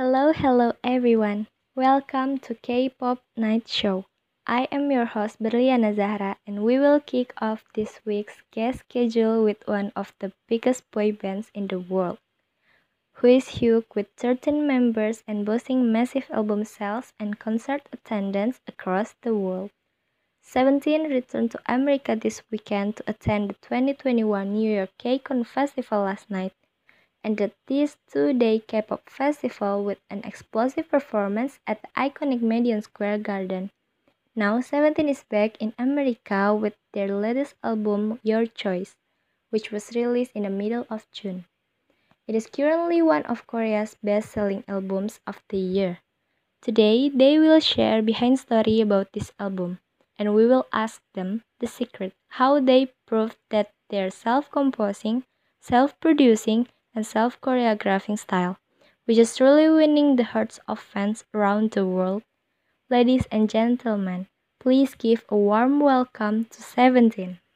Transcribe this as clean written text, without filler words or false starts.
Hello everyone. Welcome to K-Pop Night Show. I am your host Berliana Zahra and we will kick off this week's guest schedule with one of the biggest boy bands in the world, who is huge with 13 members and boasting massive album sales and concert attendance across the world. Seventeen returned to America this weekend to attend the 2021 New York K-Con Festival last night, ended this two-day K-pop festival with an explosive performance at the iconic Madison Square Garden. Now Seventeen is back in America with their latest album Your Choice, which was released in the middle of June. It is currently one of Korea's best-selling albums of the year. Today, they will share behind story about this album, and we will ask them the secret how they proved that their self-composing, self-producing, and self-choreographing style, which is truly winning the hearts of fans around the world. Ladies and gentlemen, please give a warm welcome to Seventeen.